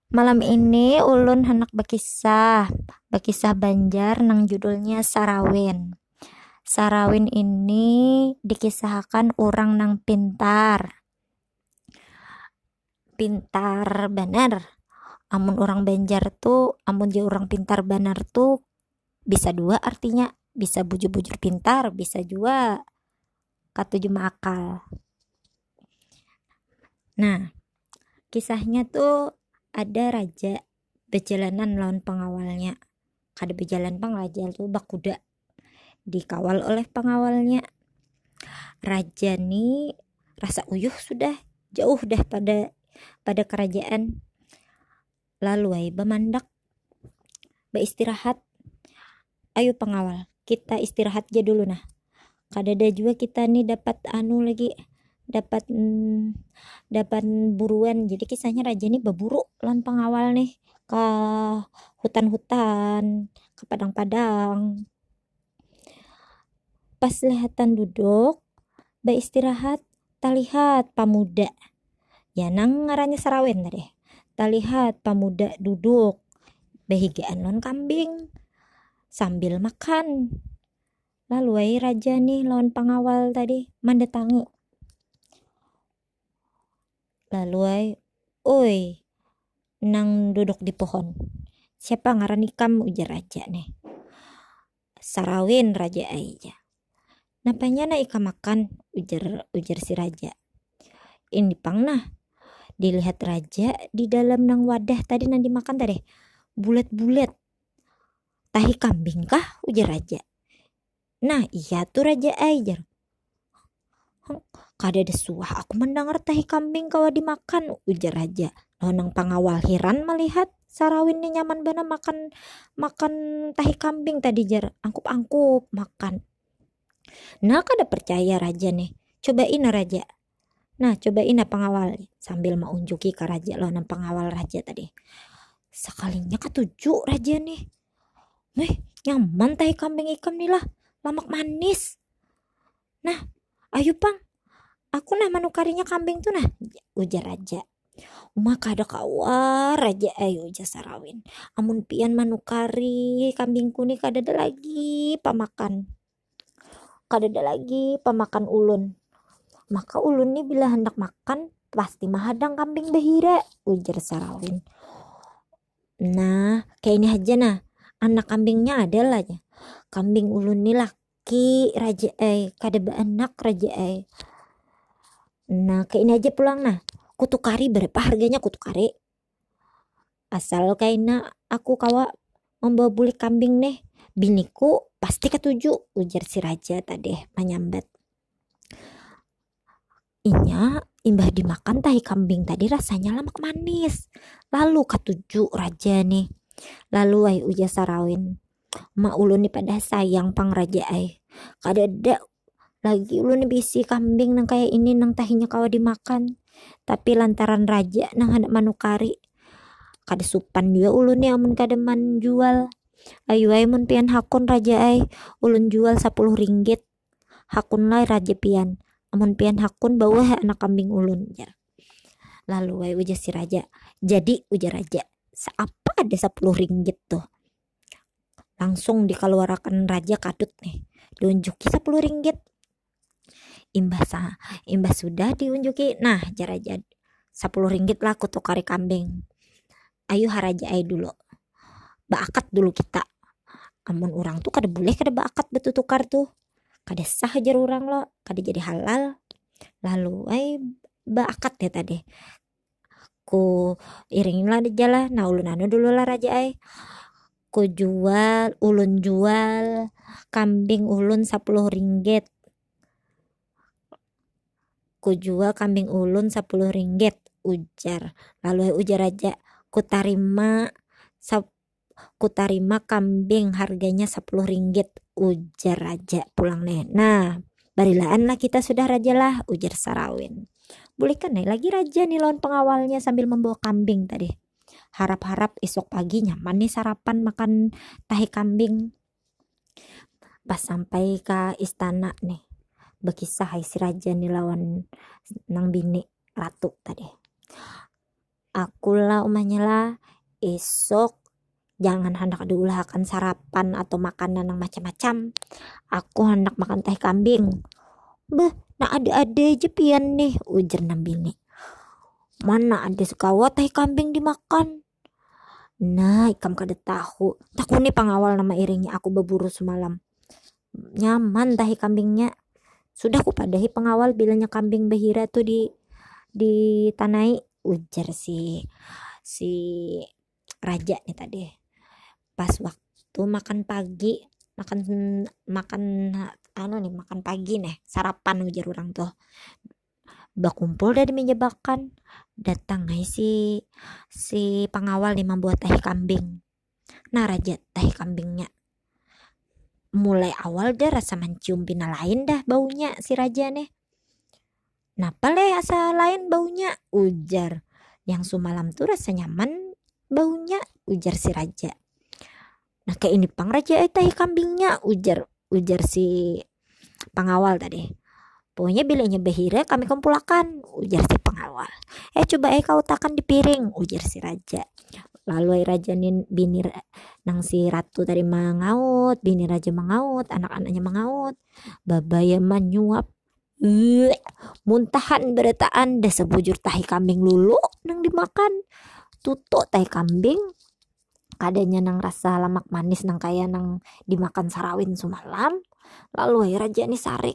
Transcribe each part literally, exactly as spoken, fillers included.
Malam ini ulun hendak berkisah, berkisah Banjar nang judulnya Sarawin. Sarawin ini dikisahkan orang nang pintar, pintar banar. Amun orang Banjar tuh, amun dia orang pintar banar tuh bisa dua artinya, bisa bujur-bujur pintar, bisa juga katuju akal. Nah, kisahnya tuh ada raja berjalanan lawan pengawalnya. Kada berjalan pang raja tuh bakuda dikawal oleh pengawalnya. Raja nih rasa uyuh sudah jauh dah pada pada kerajaan. Lalu ay bemandak beristirahat. Ayo pengawal, kita istirahat aja dulu nah. Kada ada juga kita nih dapat anu lagi dapat mm, dapat buruan. Jadi kisahnya raja nih berburu lawan pengawal nih ke hutan-hutan, ke padang-padang. Pas lihatan duduk beristirahat, talihat pamuda. Ya nang ngarannya Sarawin tadi. Talihat pamuda duduk behigaan lawan kambing sambil makan. Lalu ay raja nih lawan pengawal tadi mendatangi. Lalu ay, oi, nang duduk di pohon. Siapa ngaran ikam, ujar raja nih. Sarawin, raja aja. Napanya na ikam makan, ujar ujar si raja. Ini pang nah. Dilihat raja di dalam nang wadah tadi nang dimakan tadi. Bulat-bulat. Tahi kambing kah, ujar raja. Nah, iya tuh raja aja. Kada ada suah aku mendengar tahi kambing kawa dimakan, ujar raja. Nang pengawal heran melihat Sarawin ini nyaman bana makan makan tahi kambing tadi jar angkup-angkup makan. Nah kada percaya raja nih. Cobain raja. Nah cobain pengawal sambil mau unjuki ke raja lawan pengawal raja tadi. Sekalinya ketujuh raja nih. Nih nyaman tahi kambing ikam nih lah. Lemak manis. Nah ayo pang. Aku nah manukarinya kambing tuh nah, ujar raja. Uma kada kawa raja ayo ujar Sarawin. Amun pian manukari kambingku nih kada ada lagi pamakan. Kada ada lagi pamakan ulun. Maka ulun nih bila hendak makan pasti mahadang kambing behira, ujar Sarawin. Nah kayak ini aja nah. Anak kambingnya adalah ya. Kambing ulun nih laki raja ay kada beranak raja ay. Nah kayak ini aja pulang nah. Kutukari berapa harganya kutukari? Asal kaina aku kawa membawa buli kambing nih. Biniku pasti ketujuh, ujar si raja tadi menyambat. Inya imbah dimakan tahi kambing tadi rasanya lemak manis. Lalu ketujuh raja nih. Lalu ay ujar Sarawin. Ma ulun nih pada sayang pang raja ay. Kada ada lagi ulun bisi kambing nang kayak ini nang tahinya kawa dimakan. Tapi lantaran raja nang hendak manukari. Kada supan juga ulun nih amun kada man jual. Ayo ay mun pian hakun raja ay. Ulun jual sepuluh ringgit. Hakun lah raja pian. Amun pian hakun bawa anak kambing ulun. Lalu ay ujar si raja. Jadi ujar raja. Seapa ada sepuluh ringgit tuh. Langsung dikeluarkan raja kadut nih. Diunjuki sepuluh ringgit. Imbah sah, imbah sudah diunjuki. Nah, jaraja sepuluh ringgit lah kutukari kambing. Ayo haraja ay dulu. Baakat dulu kita. Amun orang tuh kada boleh kada baakat betutukar tuh. Kada sah ajar orang lo, kada jadi halal. Lalu ay baakat ya tadi. Ku iringin lah jalan. Nah ulun anu dulu lah raja ay. Ku jual, ulun jual kambing ulun sepuluh ringgit. Ku jual kambing ulun sepuluh ringgit, ujar. Lalu ujar raja, ku tarima sap, ku tarima kambing harganya sepuluh ringgit, ujar raja pulang nih. Nah, barilaan lah kita sudah raja lah, ujar Sarawin. Bolehkan nih lagi raja nih lawan pengawalnya sambil membawa kambing tadi. Harap-harap esok pagi nyaman nih sarapan makan tahi kambing. Pas sampai ke istana nih. Bekisah hai si raja nih lawan nang bini ratu tadi. Akulah umahnya lah esok jangan hendak diulahkan sarapan atau makanan yang macam-macam. Aku hendak makan teh kambing. Beh, nah ada-ada aja pian nih, ujar Nabini. Mana ada sekawa teh kambing dimakan. Nah, ikam kada tahu. Tahu nih pengawal nama iringnya aku berburu semalam. Nyaman tahi kambingnya. Sudah ku padahi pengawal bilanya kambing behira tuh di di tanai, ujar si si raja nih tadi. Pas waktu makan pagi, makan makan anu nih makan pagi nih, sarapan ujar orang tuh. Bakumpul dari meja makan, datang nih si si pengawal nih membuat teh kambing. Nah raja teh kambingnya. Mulai awal dah rasa mencium pina lain dah baunya si raja nih. Napa leh asa lain baunya, ujar. Yang semalam tuh rasa nyaman baunya, ujar si raja. Nah kayak ini pang raja eh teh kambingnya, ujar ujar si pengawal tadi. Pokoknya bilanya behira kami kumpulakan, ujar si pengawal. Eh coba eh kau takan di piring, ujar si raja. Lalu raja nin bini nang si ratu tadi mengaut, bini raja mengaut, anak-anaknya mengaut. Babaya menyuap. Uh, muntahan beretaan dah sebujur tahi kambing lulu nang dimakan. Tutuk tahi kambing. Kadanya nang rasa lemak manis nang kaya nang dimakan sarawin semalam. Lalu raja ni sarik.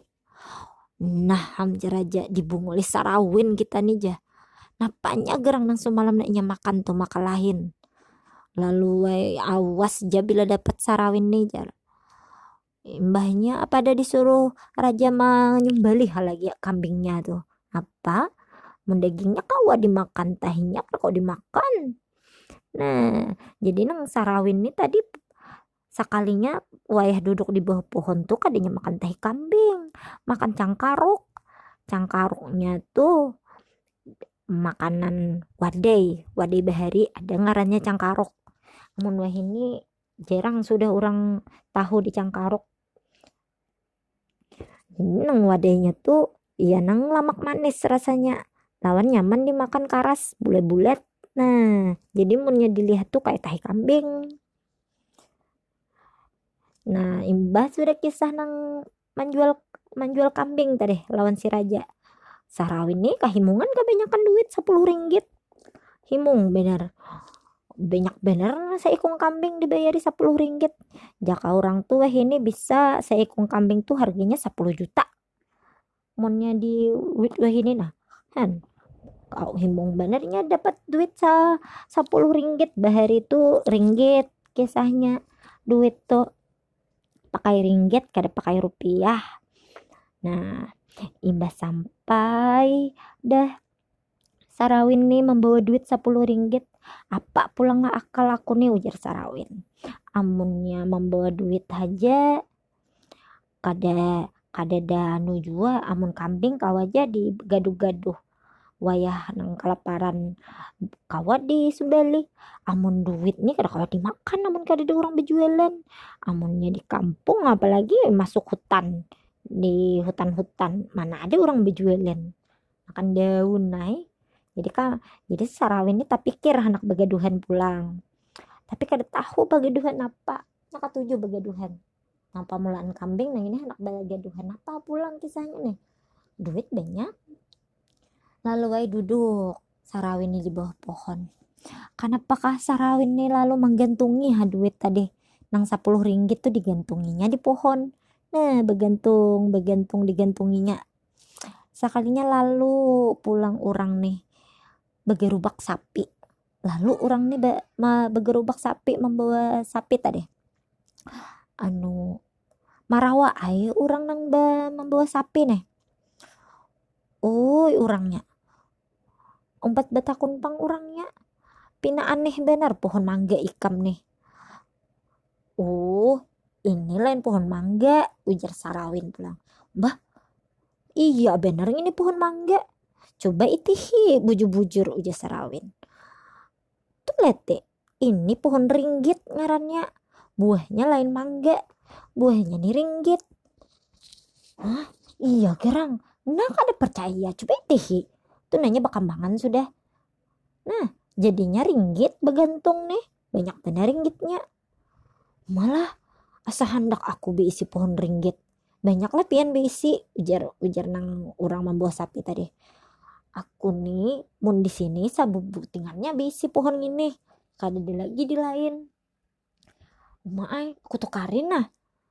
Nah hamja raja dibunguli sarawin kita nih jah. Napanya gerang nang semalam naknya makan tuh makalahin. Lalu way, awas ja bila dapat sarawin nih jar. Mbahnya apa ada disuruh raja menyembelih lagi ya kambingnya tuh. Apa? Mendagingnya kau dimakan, tahinya kau dimakan. Nah, jadi nang sarawin nih tadi sekalinya wayah duduk di bawah pohon tuh kadanya makan teh kambing, makan cangkaruk. Cangkaruknya tuh makanan wadai, wadai bahari ada ngarannya cangkaruk. Amun wah ini jarang sudah orang tahu di cangkaruk. Ini nang wadainya tuh iya nang lemak manis rasanya. Lawan nyaman dimakan karas bulat-bulat. Nah, jadi munnya dilihat tuh kayak tahi kambing. Nah, imbah sudah kisah nang menjual menjual kambing tadi lawan si raja. Sarawin nih kahimungan kebanyakan duit sepuluh ringgit. Himung bener. Banyak bener seekong kambing dibayari sepuluh ringgit. Jaka orang tua ini bisa seekong kambing tuh harganya sepuluh juta. Monnya di duit wah ini nah. Han. Kau himung benernya dapat duit sa sepuluh ringgit. Bahari itu ringgit kisahnya. Duit tuh pakai ringgit kada pakai rupiah. Nah, imbas sampai dah Sarawin nih membawa duit sepuluh ringgit. Apa pulang akal aku nih, ujar Sarawin. Amunnya membawa duit aja kada kada danu jua, amun kambing kau aja di gaduh-gaduh. Wayah nang kelaparan kawa di sembeli. Amun duit nih kada kawa dimakan, amun kada ada orang berjualan. Amunnya di kampung apalagi masuk hutan. Di hutan-hutan mana ada orang berjualan, makan daun naik. Jadi kan jadi Sarawin ini tak pikir anak begaduhan pulang, tapi kada tahu begaduhan apa. Nak ketujuh begaduhan ngapa mulaan kambing. Nah ini anak begaduhan apa pulang kisahnya nih. Duit banyak. Lalu ay duduk Sarawin ini di bawah pohon. Kenapakah Sarawin ini lalu menggantungi ha duit tadi nang sepuluh ringgit tuh digantunginya di pohon. Nah, begantung, begantung digantunginya. Sekalinya lalu pulang orang nih begerubak sapi. Lalu orang nih be, ma, begerubak sapi membawa sapi tadi. Anu marawa ay orang nang be, membawa sapi nih. Oh, orangnya. Umpat betakun pang orangnya. Pina aneh benar pohon mangga ikam nih. Oh, ini lain pohon mangga, ujar Sarawin pulang. Bah, iya bener ini pohon mangga. Coba itihi bujur-bujur, ujar Sarawin. Tuh lete, ini pohon ringgit ngarannya. Buahnya lain mangga, buahnya nih ringgit. Hah? Iya gerang. Nah kada percaya, coba itihi. Tuh nanya bakambangan sudah. Nah, Jadinya ringgit begantung nih, banyak benar ringgitnya. Malah asa hendak aku beisi pohon ringgit, banyak lah pian beisi, ujar ujar nang orang membawa sapi tadi. Aku nih mun di sini sabubutingannya beisi pohon ini, kada ada lagi di lain. Maai aku tukarin nah,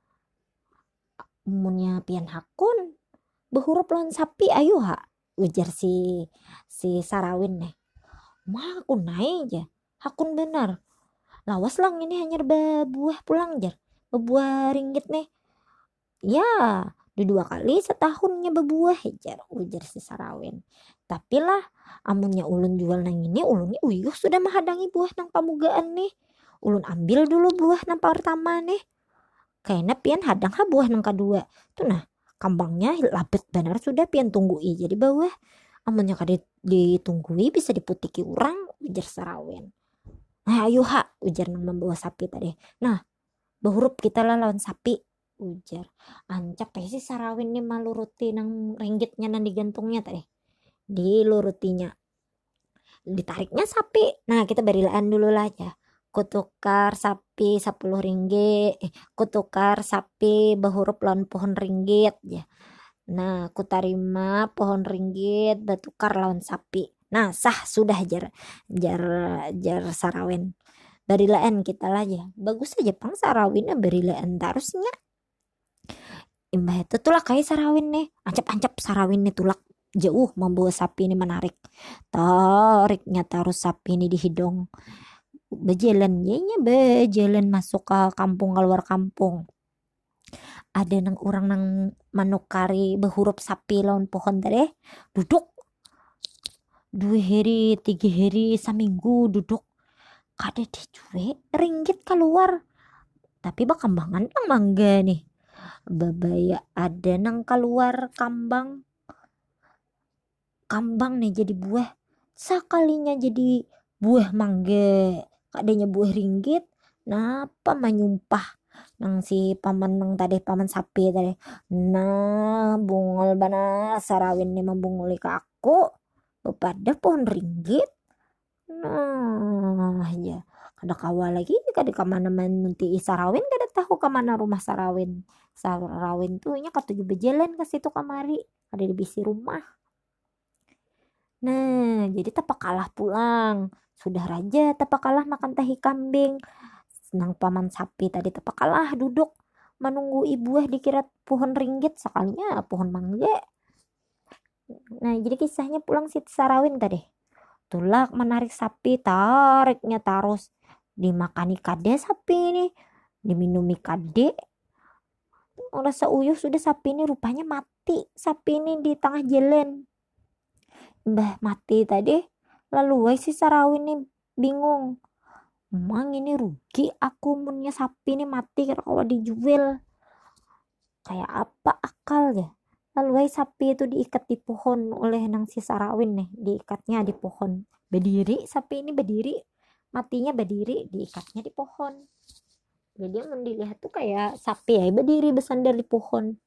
munnya pian hakun behurup lawan sapi ayo ha, ujar si si Sarawin nih. Mah aku naik aja, hakun benar. Lawas lang ini hanya berbuah pulang jar, berbuah ringgit nih. Ya, dua kali setahunnya berbuah jar, ujar si Sarawin. Tapi lah, amunnya ulun jual nang ini, ulunnya uyuh sudah menghadangi buah nang pamugaan nih. Ulun ambil dulu buah nang pertama nih. Kayaknya pian hadang ha buah nang kedua. Tuh nah, kambangnya lapet benar sudah pian tunggui jadi bawah. Amunnya kada ditunggui bisa diputiki orang, ujar Sarawin. Nah ayo ha, ujar nang membawa sapi tadi. Nah, behurup kita lah lawan sapi, ujar. Ancak teh si Sarawin nih maluruti nang ringgitnya nang digantungnya tadi. Dilurutinya. Ditariknya sapi. Nah kita berilaan dulu lah aja. Kutukar sapi sepuluh ringgit. Eh, kutukar sapi behurup lawan pohon ringgit ya. Nah, ku tarima pohon ringgit bertukar lawan sapi. Nah, sah sudah jar jar jar Sarawin. Berilaan kita lah ya. Bagus aja pang Sarawin berilaan terusnya. Imbah itu tulak kayak Sarawin nih. Ancap-ancap Sarawin nih tulak jauh membawa sapi ini menarik. Tariknya taruh sapi ini di hidung. Bejalan nya bejalan masuk ke kampung keluar kampung. Ada nang orang nang manukari behurup sapi lawan pohon tadi duduk dua hari tiga hari seminggu duduk kada dijual ringgit keluar, tapi bakambangan nang mangga nih babaya ada nang keluar kambang kambang nih jadi buah, sekalinya jadi buah mangga kadanya buah ringgit, napa menyumpah nang si paman nang tadi paman sapi tadi. Nah bungol bana Sarawin nih membunguli ke aku pada pohon ringgit. Nah ya kada kawa lagi kada kemana nanti Sarawin kada tahu kemana rumah Sarawin. Sarawin tuh nya katuju berjalan ke situ kamari ada di bisi rumah. Nah jadi tapak kalah pulang, sudah raja tapak kalah makan tahi kambing. Nang paman sapi tadi tepak kalah duduk menunggu ibuah dikira pohon ringgit sekalinya pohon mangga. Nah jadi kisahnya pulang si Sarawin tadi tulak menarik sapi, tariknya terus dimakani kade sapi ini, diminumi kade. Rasa uyuh sudah sapi ini rupanya mati, sapi ini di tengah jalan. Mbah mati tadi lalu wai si Sarawin ini bingung. Emang ini rugi aku munnya sapi ini mati kalau dijual. Kayak apa akal ya? Lalu sapi itu diikat di pohon oleh nang si Sarawin nih, diikatnya di pohon. Berdiri sapi ini berdiri, matinya berdiri, diikatnya di pohon. Jadi yang dilihat tuh kayak sapi ya berdiri bersandar di pohon.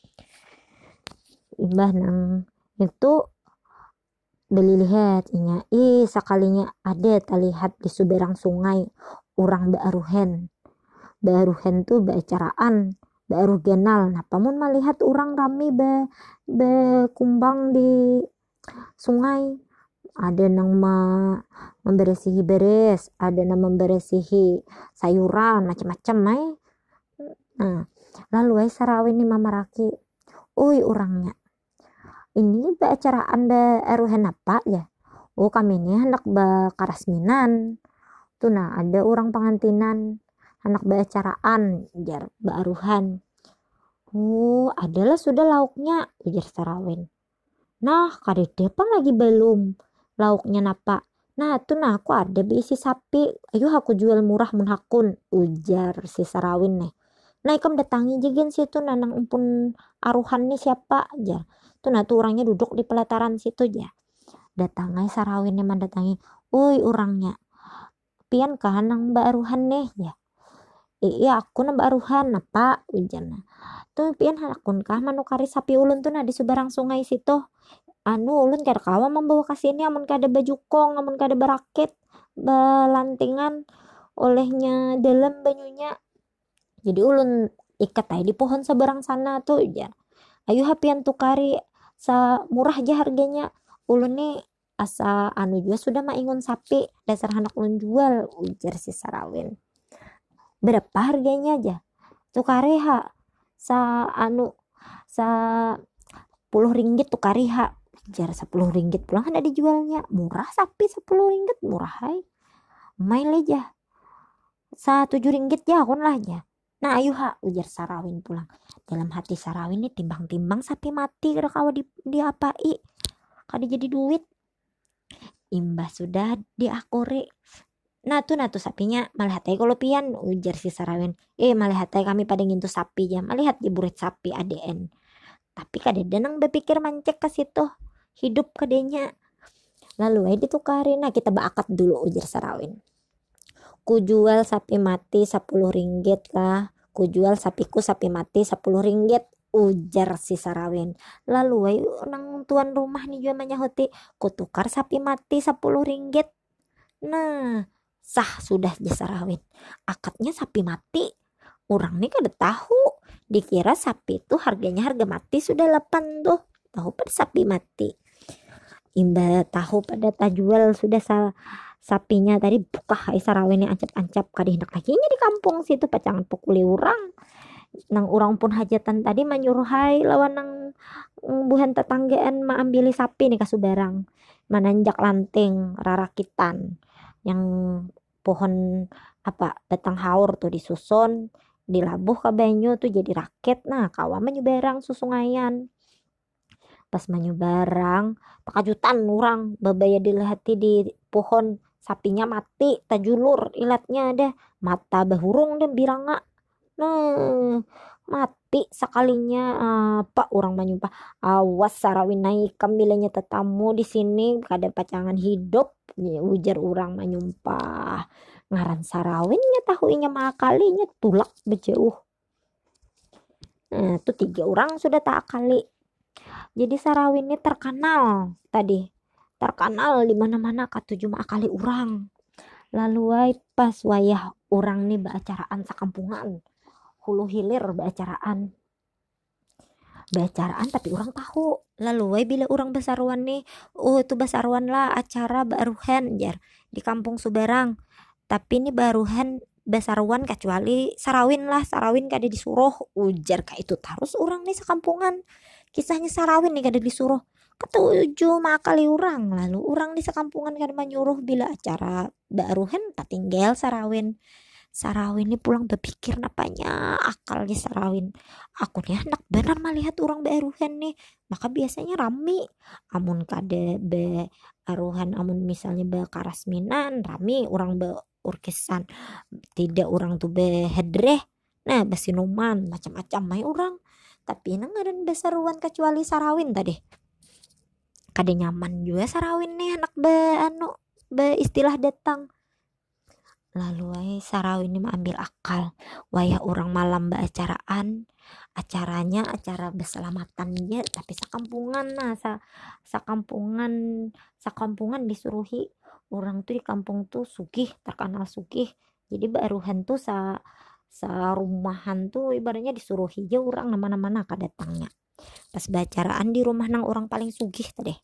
Imbah nang itu beli lihat inya ih sekalinya ada terlihat di seberang sungai orang baaruhen baaruhen tuh baacaraan baaruh genal. Nah pamun melihat orang rame be, be kumbang di sungai, ada nang ma, memberesihi beres, ada nang memberesihi sayuran macam-macam ay. Nah lalu ay Sarawin ni mamaraki, uy orangnya ini baacaraan baaruhen apa ya? Oh kami ini hendak bakarasminan. Tuh nah ada orang pengantinan hendak baacaraan jar baaruhan. Oh adalah sudah lauknya ujar Sarawin. Nah kadede pang lagi belum lauknya napa. Nah tuh nah aku ada beisi sapi, ayo aku jual murah mun hakun, ujar si Sarawin nih. Nah ikam datangi jigen situ nanang umpun aruhan nih siapa aja. Tuh nah tuh orangnya duduk di pelataran situ aja. Datangai Sarawin nih mendatangi, uy orangnya pian kan nang baaruhan nih ya. Iya aku nang baaruhan apa ujarnya. Tuh pian hakun kah manukari sapi ulun tuh nah di seberang sungai situ. Anu ulun kada kawa membawa kasih ini amun kada baju kong amun kada berakit. belantingan olehnya dalam banyunya. Jadi ulun ikat aja di pohon seberang sana tuh ya. Ayo hapian tukari sa murah aja harganya. Ulun nih asa anu juga sudah maingon sapi dasar anak ulun jual, ujar si Sarawin. Berapa harganya aja? Tukari ha sa anu sa puluh ringgit tukari ha, ujar sepuluh ringgit pulang ada dijualnya. Murah sapi sepuluh ringgit murah hai. Main aja sa tujuh ringgit ya kon lah aja. Nah ayo ha, ujar Sarawin pulang. Dalam hati Sarawin ini timbang-timbang sapi mati kada kawa di, diapai kada jadi duit. Imbah sudah diakore. Nah tuh nah tuh sapinya melihat aja kalau pian, ujar si Sarawin. Eh melihat aja kami pada ngintu sapi ya, melihat di burit sapi A D N. Tapi kada denang berpikir mancek ke situ. Hidup kadenya. Lalu aja ditukarin. Nah kita baakat dulu, ujar Sarawin. Ku jual sapi mati sepuluh ringgit lah. Ku jual sapiku sapi mati sepuluh ringgit, ujar si Sarawin. Lalu ay nang tuan rumah nih juga menyahuti, ku tukar sapi mati sepuluh ringgit. Nah sah sudah aja Sarawin. Akadnya sapi mati. Orang nih kada tahu. Dikira sapi itu harganya harga mati sudah delapan tuh. Tahu pada sapi mati. Imba tahu pada tajual sudah sa sapinya tadi buka hai Sarawin yang ancap-ancap kada hendak lagi di kampung situ pacangan pukuli orang. Nang orang pun hajatan tadi menyuruh hai lawan nang buhan tetanggaan maambili sapi nih kasubarang. Mananjak lanting rarakitan yang pohon apa batang haur tuh disusun dilabuh ke banyu tuh jadi raket. Nah kawa menyubarang susungayan. Pas menyubarang pakajutan orang babaya dilihati di pohon sapinya mati tajulur ilatnya ada mata bahurung dan biranga. Nah mati sekalinya apa orang menyumpah awas Sarawin naik kambilanya tetamu di sini kada pacangan hidup ya, ujar orang menyumpah. Ngaran Sarawinnya tahuinya makalinya tulak bejauh. Nah tuh tiga orang sudah tak akali. Jadi Sarawin ini terkenal tadi terkenal di mana-mana katuju akali orang. Lalu ay pas wayah orang nih baacaraan sakampungan hulu hilir baacaraan baacaraan tapi orang tahu. Lalu ay bila orang basaruan nih oh itu basaruan lah acara baruhan jar di kampung Subarang. Tapi ini baruhan basaruan kecuali Sarawin lah. Sarawin kada disuruh, ujar kayak itu terus orang nih sekampungan. Kisahnya Sarawin nih kada disuruh. Ketujuh makali orang. Lalu orang di sekampungan kada menyuruh bila acara baruhan tak tinggal Sarawin. Sarawin ini pulang berpikir napanya akal di Sarawin. Aku nih hendak benar melihat orang baruhan nih. Maka biasanya rame. Amun kada baruhan amun misalnya bakarasminan rame orang be urkisan tidak orang tuh behedreh nah basinuman macam-macam mai orang. Tapi nang ngaran besaruan kecuali Sarawin tadi kada nyaman juga Sarawin nih anak be anu be istilah datang. Lalu ay Sarawin ini mengambil akal wayah orang malam baacaraan acaranya acara berselamatan ya tapi sakampungan nah sa sakampungan sakampungan disuruhi orang tuh di kampung tuh sugih terkenal sugih. Jadi baruhan tuh sa sa rumahan tuh ibaratnya disuruh hijau orang nama-nama nak datangnya. Pas bacaraan di rumah nang orang paling sugih tadi.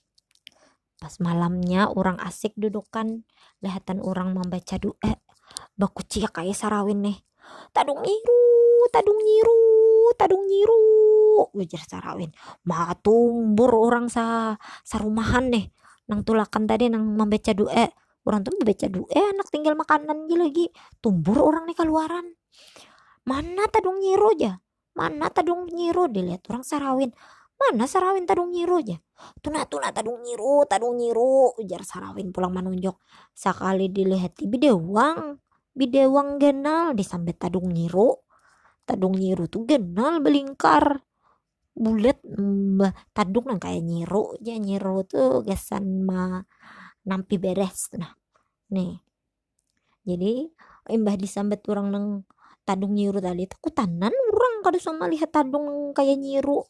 Pas malamnya orang asik dudukan lihatan orang membaca doa. Baku cia kayak Sarawin nih. Tadung nyiru, tadung nyiru, tadung nyiru, ujar Sarawin. Ma tumbur orang sa sarumahan nih. Nang tulakan tadi nang membaca doa. Orang tuh membaca doa anak tinggal makanan lagi. Tumbur orang nih keluaran. Mana tadung nyiru aja? Mana tadung nyiru? Dilihat orang Sarawin. Mana Sarawin tadung nyiru aja? Tuna tuna tadung nyiru, tadung nyiru, ujar Sarawin pulang menunjuk. Sekali dilihat di bidewang. Bidewang genal disambet tadung nyiru. Tadung nyiru tuh genal belingkar. Bulet mbah tadung nang kayak nyiru aja. Nyiru tuh gesan ma nampi beres nah nih. Jadi imbah disambet orang nang tadung nyiru tadi takutanan orang kada sama lihat tadung kayak nyiru.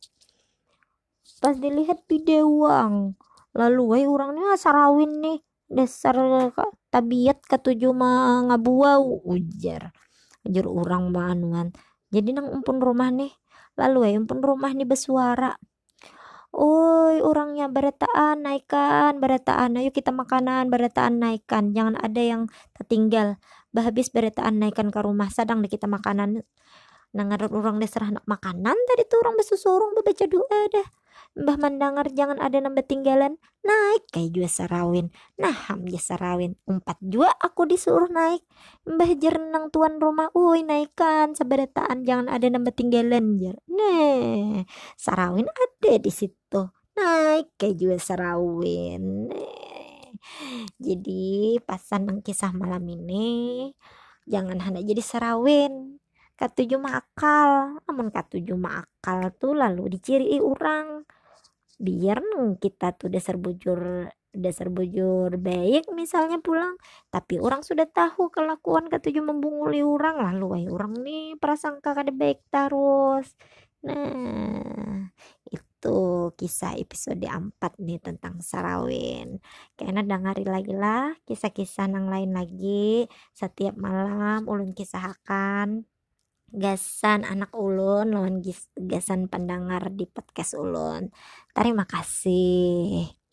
Pas dilihat bidewang lalu ay orangnya Sarawin nih dasar tabiat katuju mah ngabuau ujar ujar orang mah anuan. Jadi nang umpun rumah nih lalu ya umpun rumah nih bersuara, oi orangnya beretaan naikkan beretaan, ayo kita makanan beretaan naikkan, jangan ada yang tertinggal, habis beretaan naikkan ke rumah sadang deh kita makanan. Nangar orang deh serah nak makanan tadi tuh orang besusurung baca doa dah. Mbah mendengar jangan ada nambah tinggalan, naik kayak jua sarawin, nah ham ja sarawin empat jua aku disuruh naik, mbah jerenang tuan rumah, uy naikkan seberetaan jangan ada nambah tinggalan jar, nah sarawin ada di situ, naik kayak jua sarawin. Nah, jadi pasan nang kisah malam ini jangan hanya jadi sarawin. Katuju mah akal, amun katuju mah akal tuh lalu diciri orang. Biar neng kita tuh dasar bujur dasar bujur baik misalnya pulang, tapi orang sudah tahu kelakuan katuju membunguli orang lalu ay orang nih prasangka kada baik terus. Nah, itu kisah episode empat nih tentang sarawin. Kayaknya dengari lagi lah kisah-kisah nang lain lagi. Setiap malam ulun kisahkan gasan anak ulun lawan gis- gasan pendengar di podcast ulun. Terima kasih.